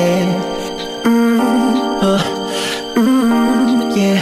Yeah.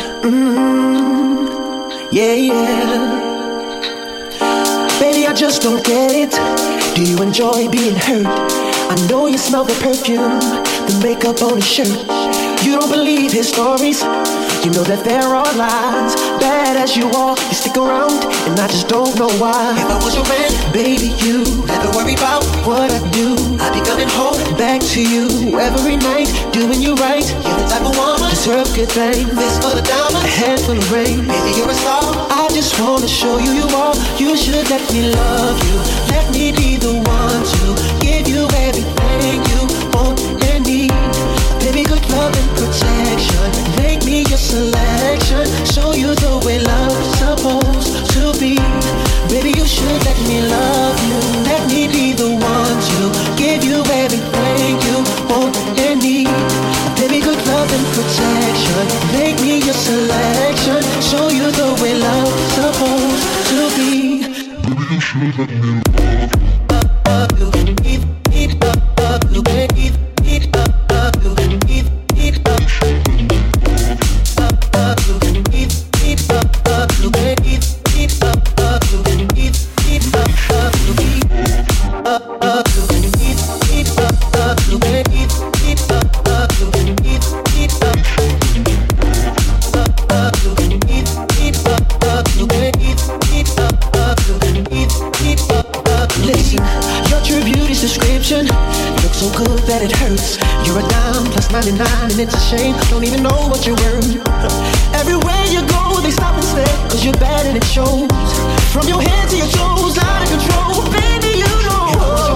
Yeah, yeah. Baby, I just don't get it. Do you enjoy being hurt? I know you smell the perfume, the makeup on his shirt. You don't believe his stories. You know that there are lies. Bad as you are, you stick around, and I just don't know why. If I was your man, baby, you never worry about what I do. I'd be coming home back to you every night, doing you right. You're the type of woman deserve good things. This for the diamond, a handful of rain. Baby, you're a star. I just wanna show you you are. You should let me love you. Let me be the one to give you everything you want and need. Baby, good love and protection. Make me your selection. Show you the way love's supposed to be. Baby, you should let me love you. Let me be the one to give you everything you want and need. Baby, good love and protection. Make me your selection. Show you the way love's supposed to be. Baby, you should let me love you. Listen, your true beauty's description looks so good that it hurts. You're a dime plus 99 and it's a shame, don't even know what you're worth. Everywhere you go, they stop and stare, cause you're bad and it shows. From your head to your toes, out of control. Baby, you know.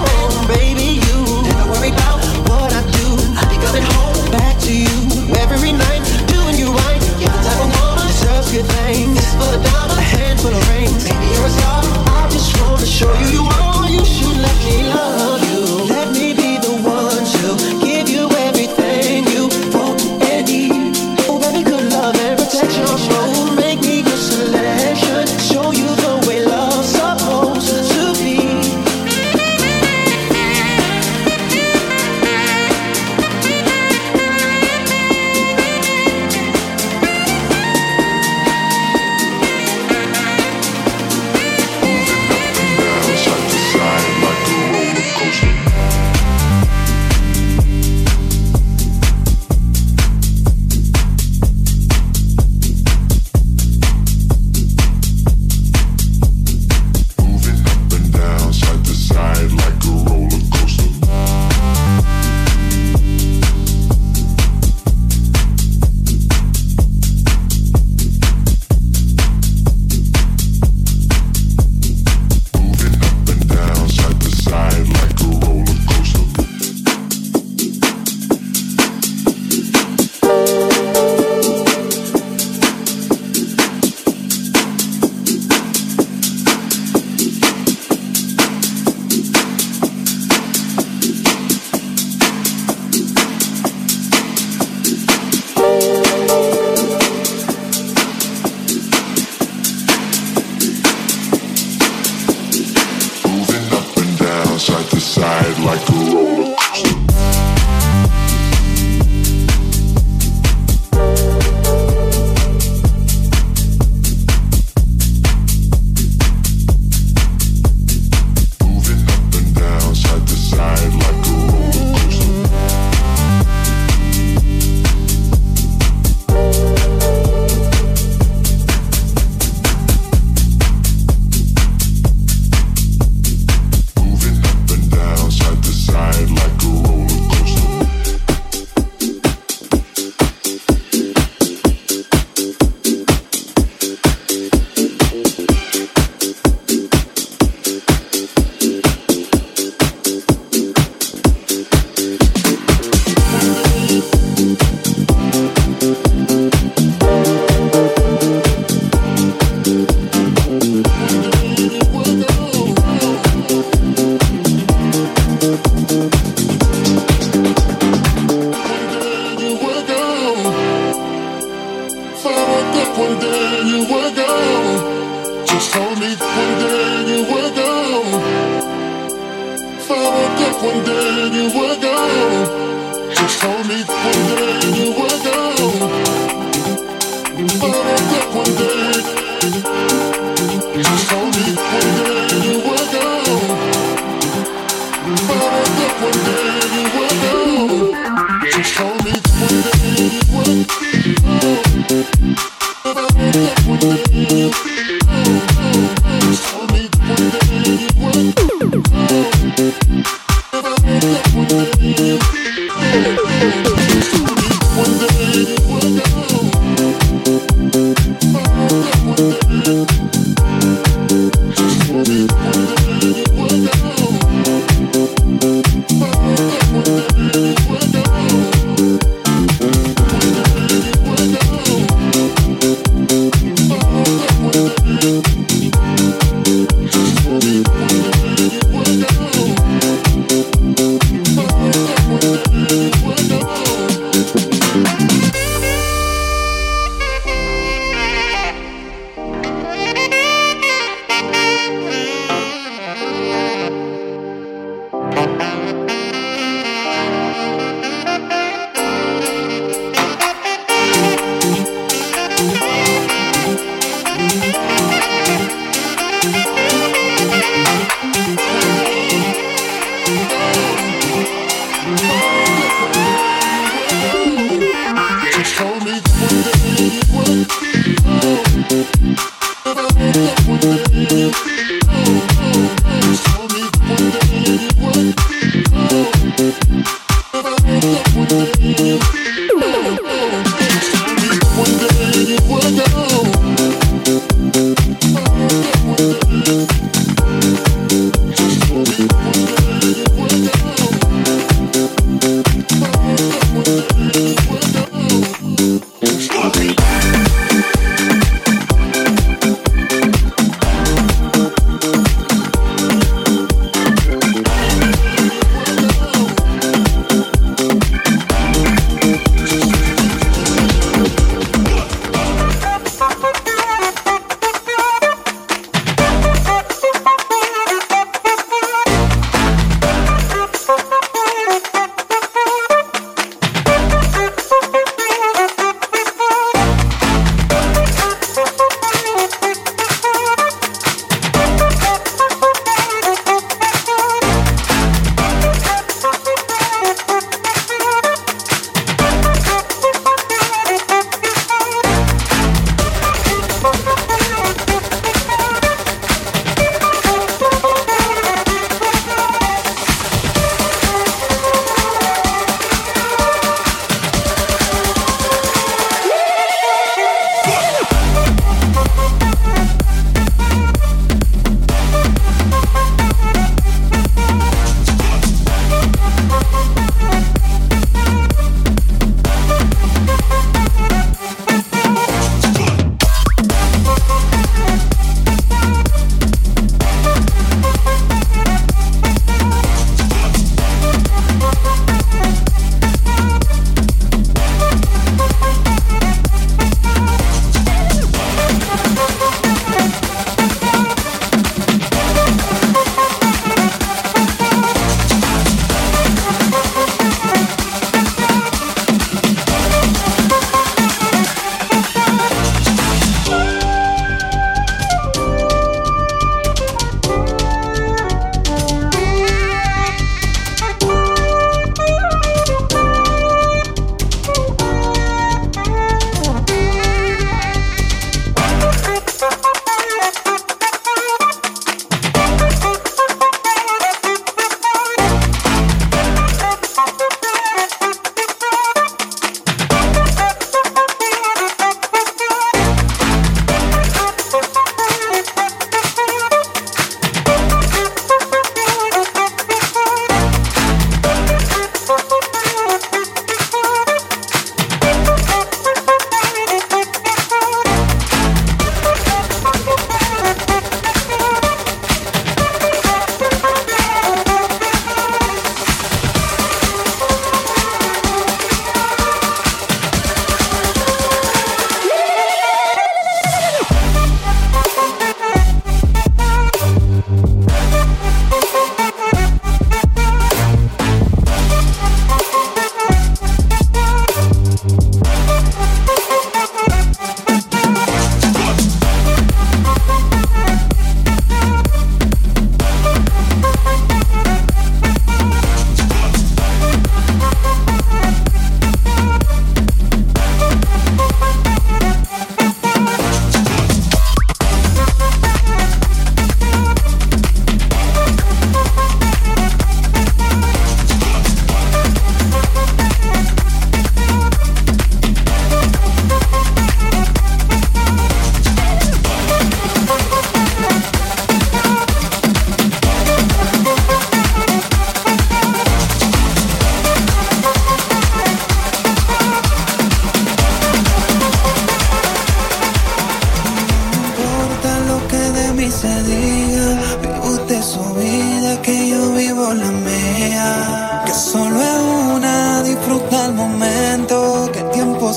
Baby, you never worry about what I do. I'll be coming home back to you every night, doing you right. You're the type of woman deserves good things. This for the diamond, a handful of rings. Baby, you're a star. I just wanna show you you are. You should let me love you. Let me be the one to give you everything you want and need. Oh, baby, good love and protection. Oh, make me your selection. Show you the way love's supposed to be. One day you were gone.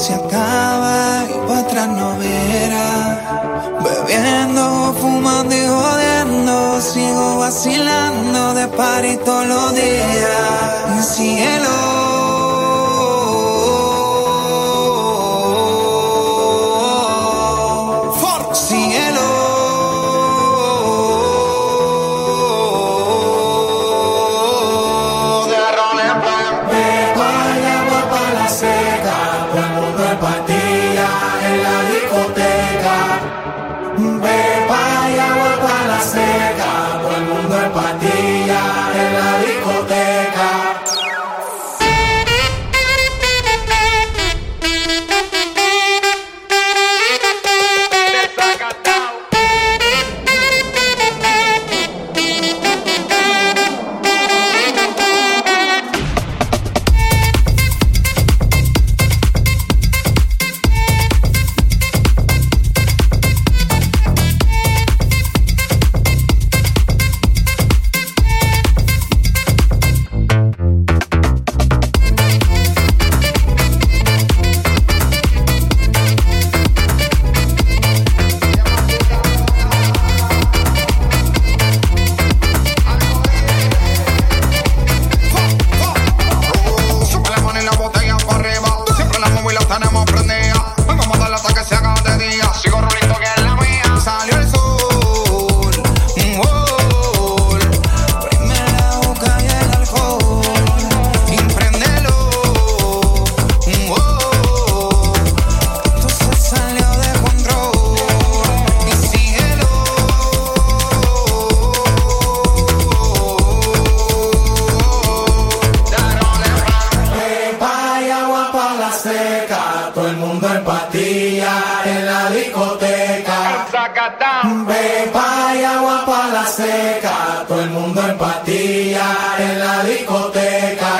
se acaba y para atrás no verá. Bebiendo, fumando y jodiendo, sigo vacilando de party todos los días. Cielo. Pepa y agua pa' la seca, todo el mundo en patilla en la discoteca.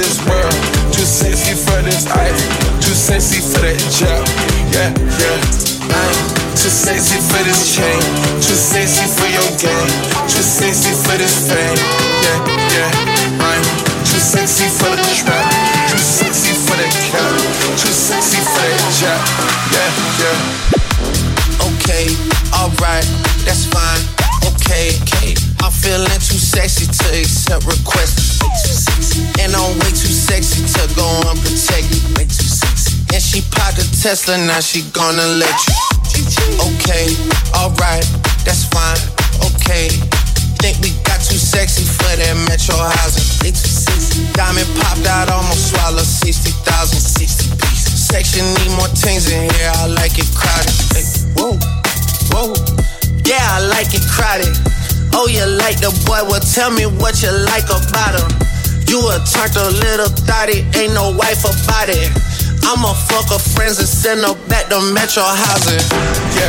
this world, too sexy for this ice, too sexy for that job. Yeah, yeah. I'm too sexy for this chain, too sexy for your game, too sexy for this fame. Yeah, yeah. I'm too sexy for the trap, too sexy for that cap, too sexy for that job. Yeah, yeah. Okay, alright, that's fine. Okay, I'm feeling too sexy to accept requests. And I'm way too sexy to go unprotected. Way too sexy. And she popped a Tesla, now she gonna let you. Okay, alright, that's fine. Okay, think we got too sexy for that metro housing. Way too sexy. Diamond popped out, almost swallowed 60,000, 60 pieces. Section need more things in here, I like it crowded. Hey, whoa, whoa. Yeah, I like it crowded. Oh, you like the boy? Well, tell me what you like about him. You a turned a little thotty, ain't no wife about it. I'ma fuck her friends and send her back to metro housing. Yeah.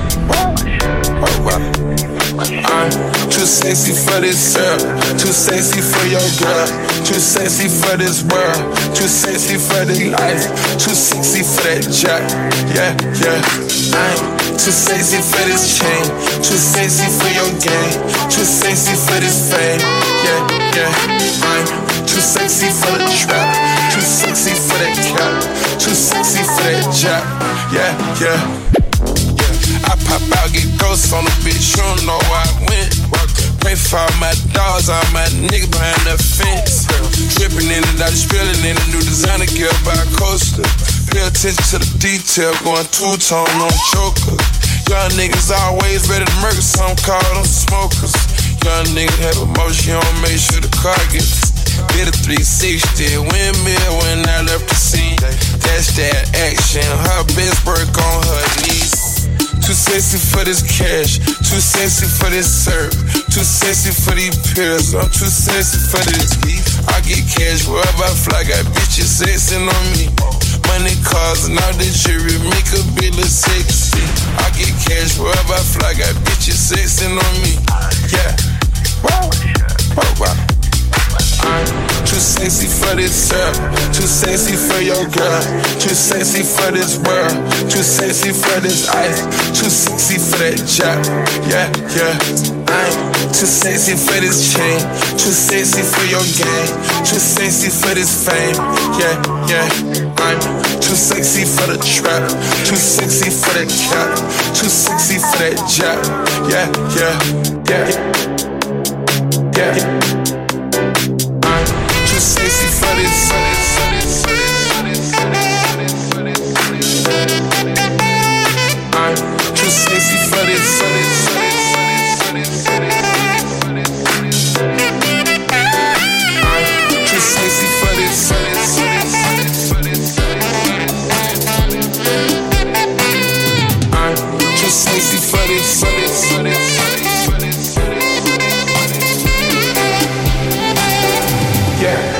I'm too sexy for this syrup, too sexy for your girl, too sexy for this world, too sexy for this life, too sexy for that jack. Yeah, yeah. I'm too sexy for this chain, too sexy for your game, too sexy for this fame. Yeah, yeah. I'm too sexy for the trap, too sexy for that cap, too sexy for that jack. Yeah, yeah. I pop out, get ghosts on the bitch, you don't know where I went. Pray for all my dogs, all my niggas behind the fence. Dripping in it, I just spilling in a new designer gear by a coaster. Pay attention to the detail, going two-tone on chokers. Young niggas always ready to murder, some call them smokers. Young niggas have emotion, on make sure the car gets. Did a 360 windmill when I left the scene. That's that action, her best work on her knees. Too sexy for this cash, too sexy for this syrup, too sexy for these pills, I'm too sexy for this beef. I get cash wherever I fly, got bitches sexing on me. Money, cars, and all this jewelry make a bitch look sexy. I get cash wherever I fly, got bitches sexing on me. Yeah, wow, wow, wow. I'm too sexy for this syrup, too sexy for your girl, too sexy for this world, too sexy for this ice, too sexy for that job. Yeah, yeah. I'm too sexy for this chain, too sexy for your game, too sexy for this fame. Yeah, yeah. I'm too sexy for the trap, too sexy for that cap, too sexy for that job. Yeah, yeah, yeah, yeah. Too sexy for this. I'm too sexy for this. I'm too sexy for this. I'm too sexy for this. Yeah.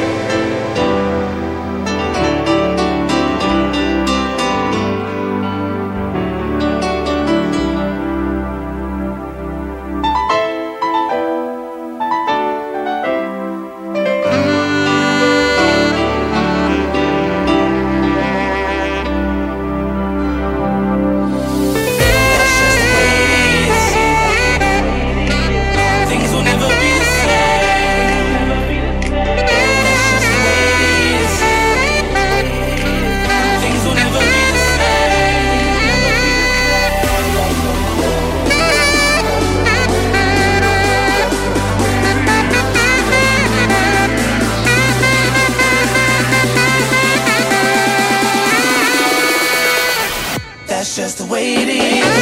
That's just the way it is.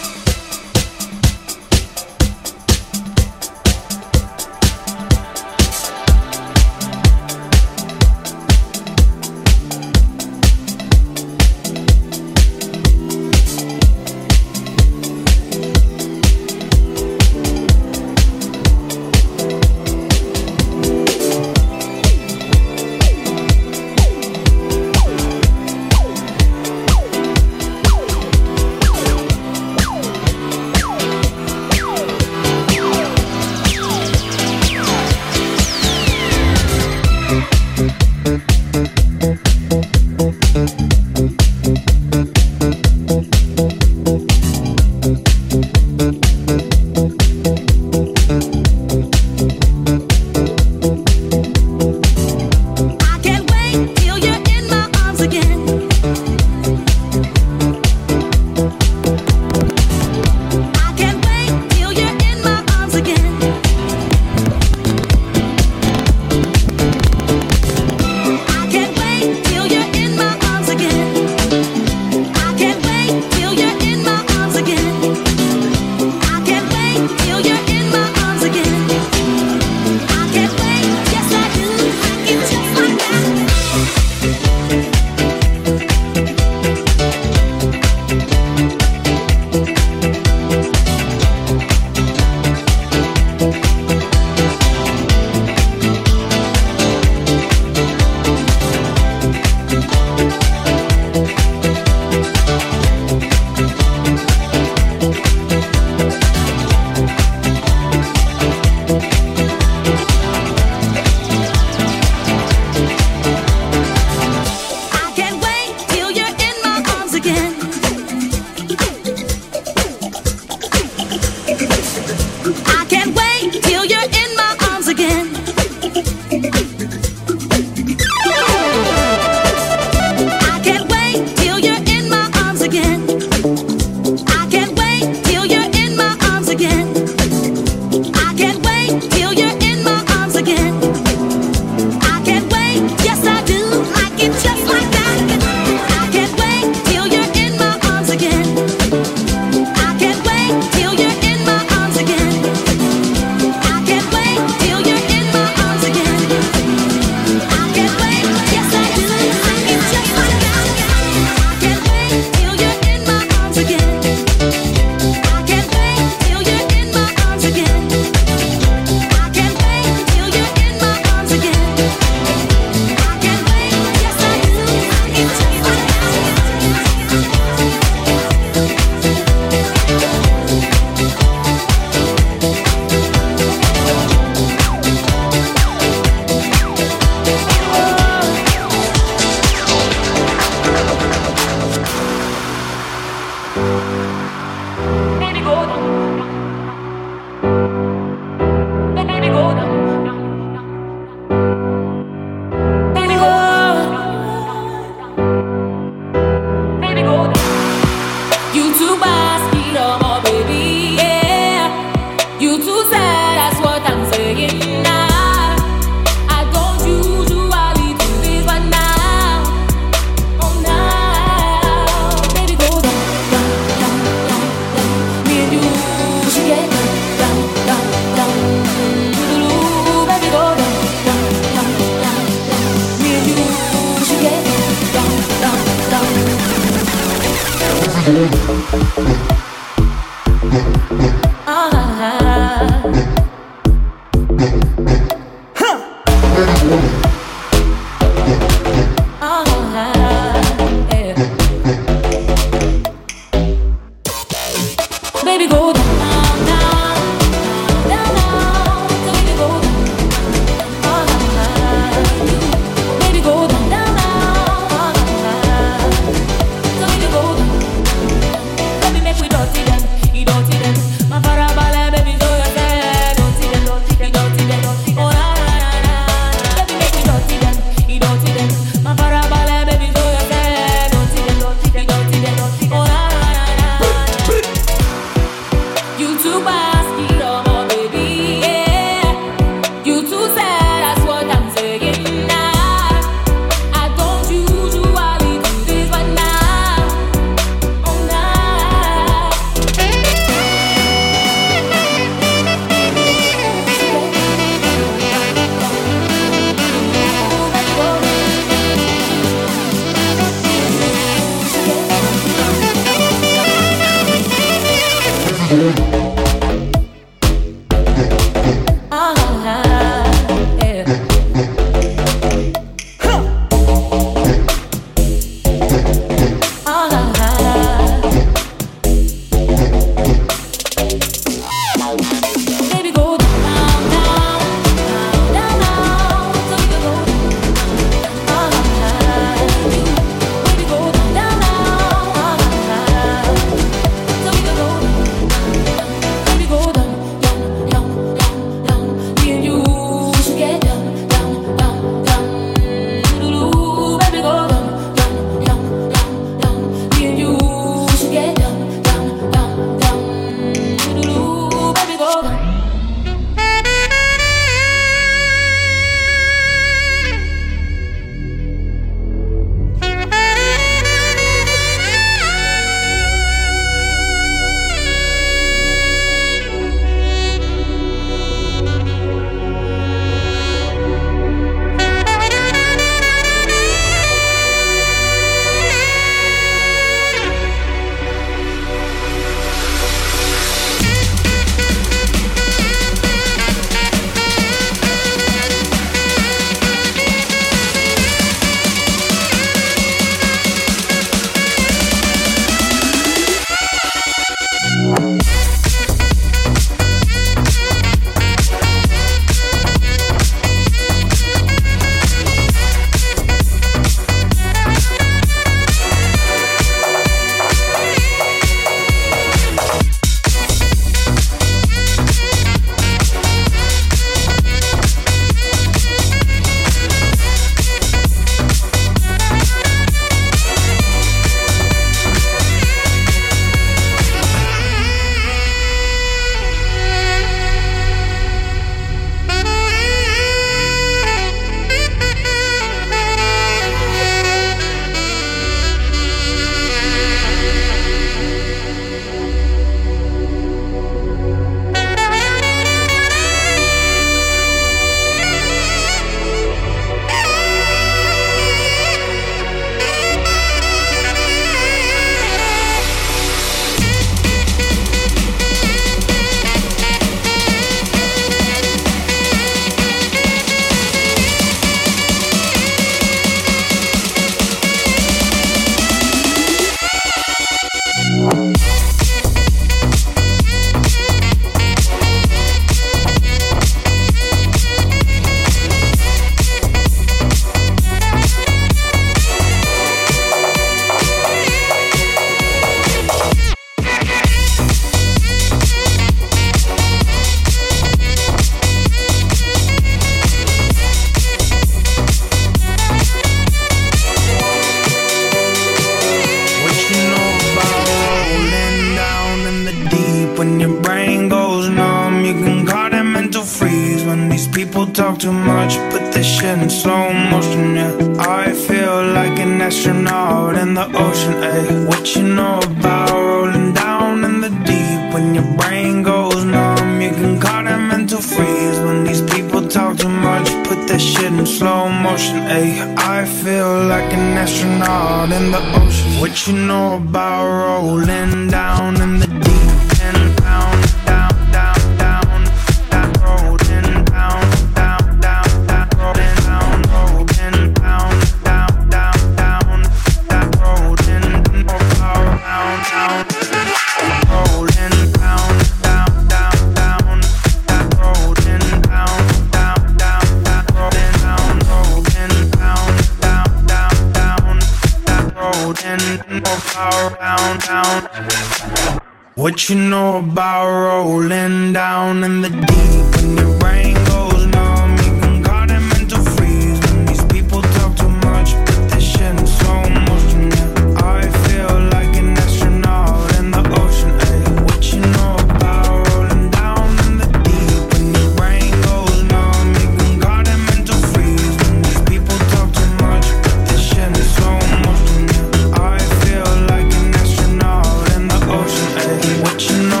brain goes numb. You can call that mental freeze. When these people talk too much, put this shit in slow motion, yeah. I feel like an astronaut in the ocean, ayy. What you know about rolling down in the deep? When your brain goes numb, you can call that mental freeze. When these people talk too much, put that shit in slow motion, ayy. I feel like an astronaut in the ocean. What you know about rolling down in the deep and down, down, down, down, down, rolling down, down, down, down, rolling down, rolling down, down, down, down, down, rolling around, down, rolling down, down, down, down, down, rolling down, down, down, down, rolling down, rolling down, down, down, down, down, rolling around, down. What you know about rolling down in the deep? When your brain goes numb, you can call that mental freeze. When these people talk too much, put this shit in slow motion, yeah. I feel like an astronaut in the ocean, ayy. What you know about rolling down in the deep? When your brain goes numb, you can call that mental freeze. When these people talk too much, put this shit in slow motion, yeah. I feel like an astronaut in the ocean, ayy. What you know?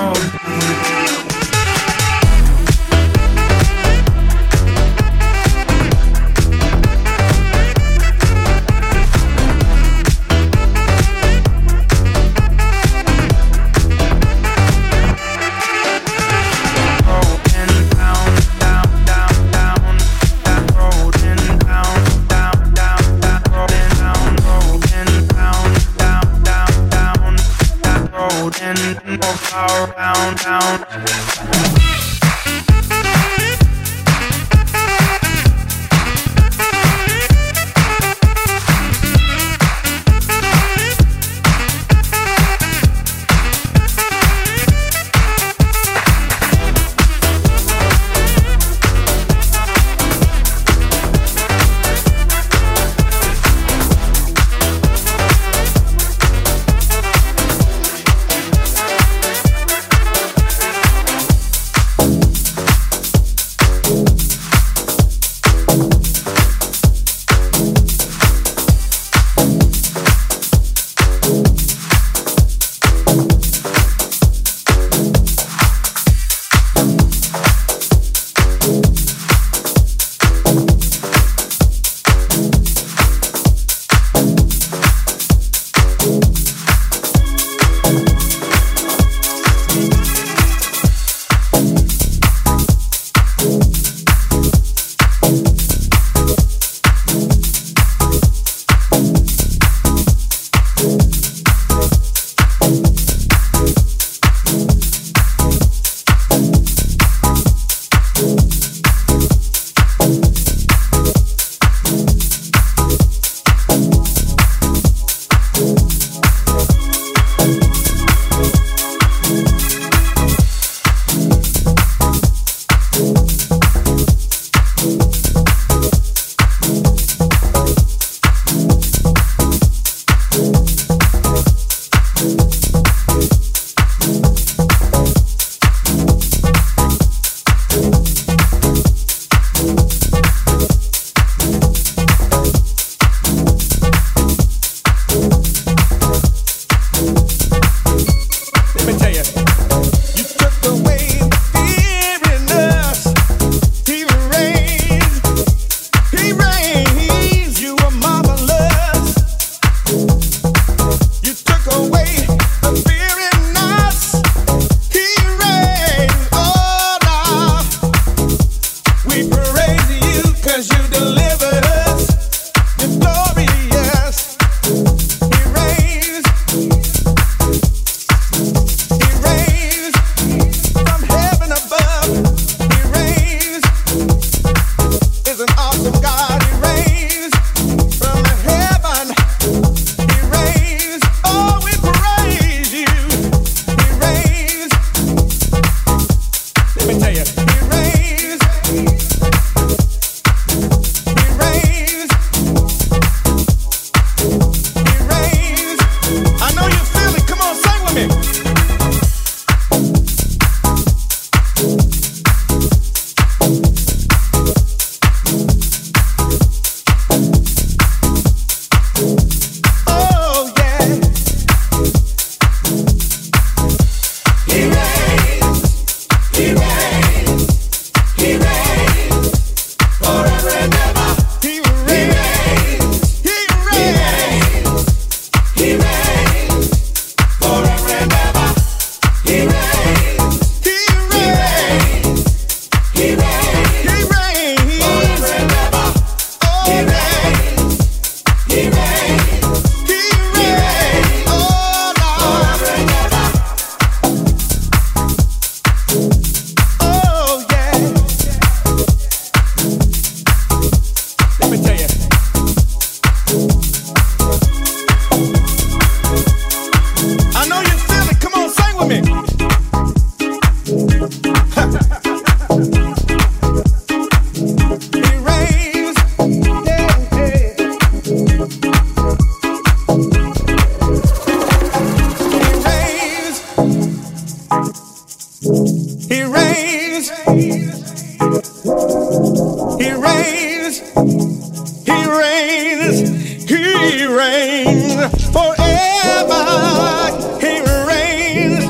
He reigns. He reigns. He reigns forever. He reigns.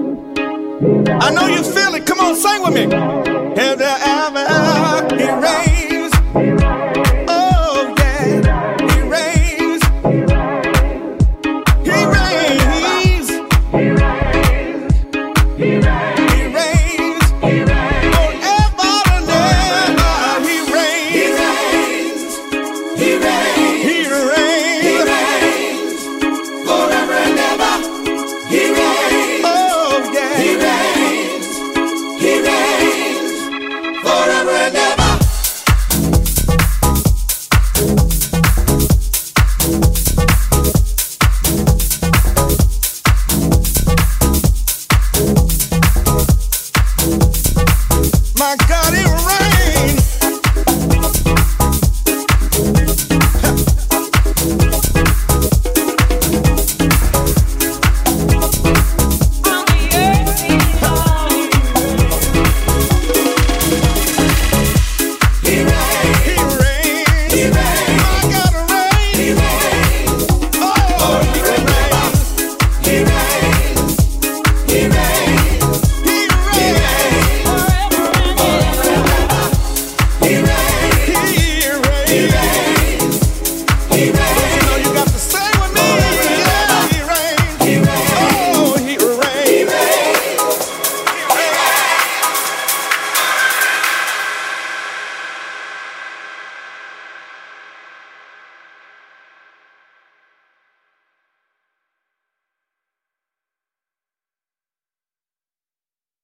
I know you feel it. Come on, sing with me. Ever, he reigns.